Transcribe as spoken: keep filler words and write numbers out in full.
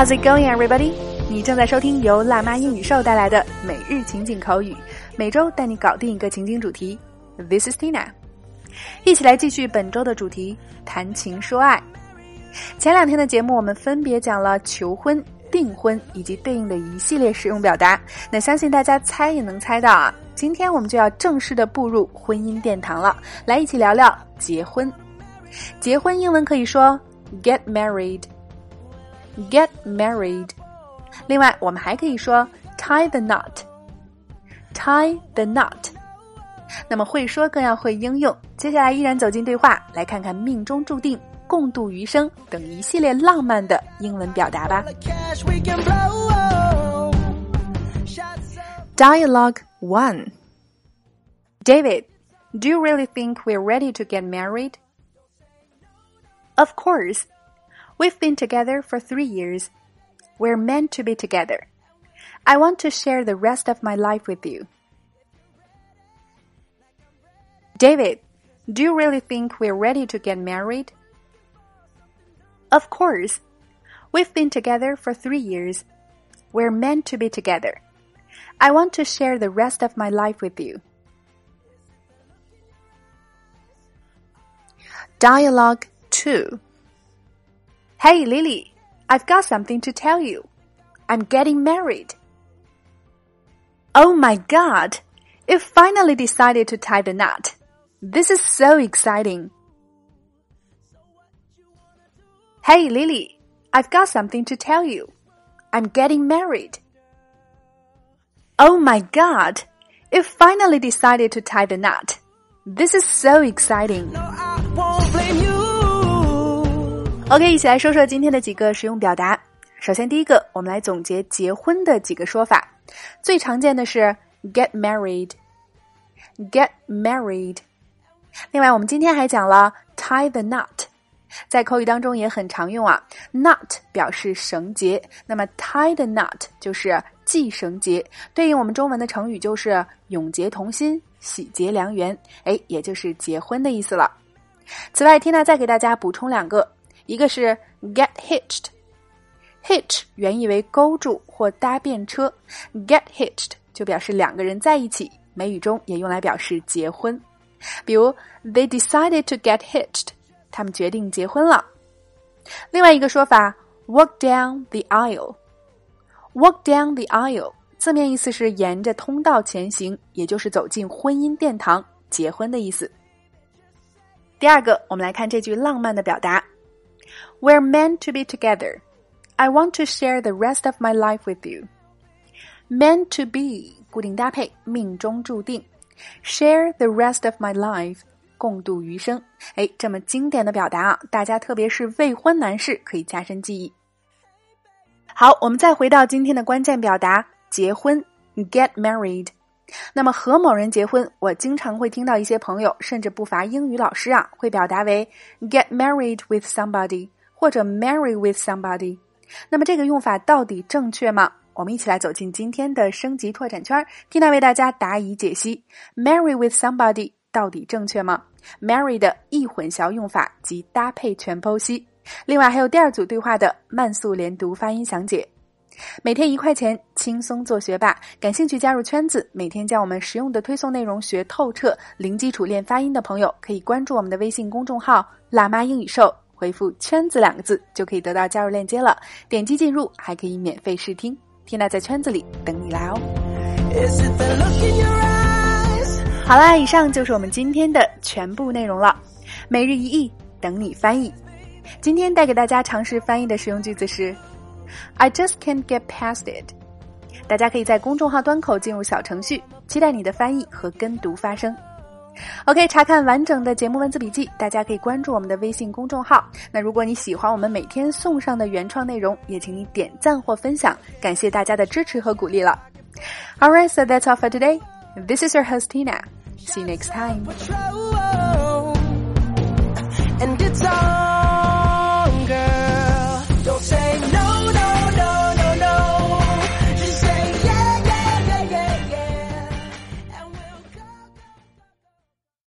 How's it going, everybody? 你正在收听由辣妈英语秀带来的每日情景口语，每周带你搞定一个情景主题。This is Tina. 一起来继续本周的主题，谈情说爱。前两天的节目我们分别讲了求婚、订婚以及对应的一系列实用表达，那相信大家猜也能猜到啊。今天我们就要正式的步入婚姻殿堂了，来一起聊聊结婚。结婚英文可以说 get married get married， 另外我们还可以说 tie the knot tie the knot。 那么会说更要会应用，接下来依然走进对话，来看看命中注定、共度余生等一系列浪漫的英文表达吧。 Dialogue one. David, do you really think we're ready to get married? Of course. We've been together for three years. We're meant to be together. I want to share the rest of my life with you. David, do you really think we're ready to get married? Of course. We've been together for three years. We're meant to be together. I want to share the rest of my life with you. Dialogue two. Hey, Lily, I've got something to tell you. I'm getting married. Oh my God, you've finally decided to tie the knot. This is so exciting. Hey, Lily, I've got something to tell you. I'm getting married. Oh my God, you've finally decided to tie the knot. This is so exciting. OK, 一起来说说今天的几个实用表达。首先第一个，我们来总结结婚的几个说法。最常见的是 get married get married。 另外我们今天还讲了 tie the knot， 在口语当中也很常用啊。 knot 表示绳结，那么 tie the knot 就是系绳结，对应我们中文的成语就是永结同心、喜结良缘，哎，也就是结婚的意思了。此外 Tina 再给大家补充两个，一个是 get hitched， hitch 原意为勾住或搭便车， get hitched 就表示两个人在一起，美语中也用来表示结婚。比如 they decided to get hitched， 他们决定结婚了。另外一个说法 walk down the aisle， walk down the aisle 字面意思是沿着通道前行，也就是走进婚姻殿堂，结婚的意思。第二个，我们来看这句浪漫的表达 We're meant to be together. I want to share the rest of my life with you. Meant to be 固定搭配，命中注定。 Share the rest of my life 共度余生。哎，这么经典的表达啊，大家特别是未婚男士可以加深记忆。好，我们再回到今天的关键表达结婚 get married。 那么和某人结婚，我经常会听到一些朋友甚至不乏英语老师啊，会表达为 get married with somebody 或者 marry with somebody。 那么这个用法到底正确吗？我们一起来走进今天的升级拓展圈， Tina 为大家答疑解析 marry with somebody 到底正确吗？ marry 的易混淆用法及搭配全剖析，另外还有第二组对话的慢速连读发音详解。每天一块钱，轻松做学霸，感兴趣加入圈子，每天将我们实用的推送内容学透彻，零基础练发音的朋友可以关注我们的微信公众号辣妈英语秀，回复圈子两个字就可以得到加入链接了，点击进入还可以免费试听。Tina 在圈子里等你来哦。好啦，以上就是我们今天的全部内容了。每日一译，等你翻译。今天带给大家尝试翻译的实用句子是 I just can't get past it。 大家可以在公众号端口进入小程序，期待你的翻译和跟读发声。OK， 查看完整的节目文字笔记，大家可以关注我们的微信公众号。那如果你喜欢我们每天送上的原创内容，也请你点赞或分享，感谢大家的支持和鼓励了。Alright, so that's all for today. This is your host Tina. See you next time. And it's all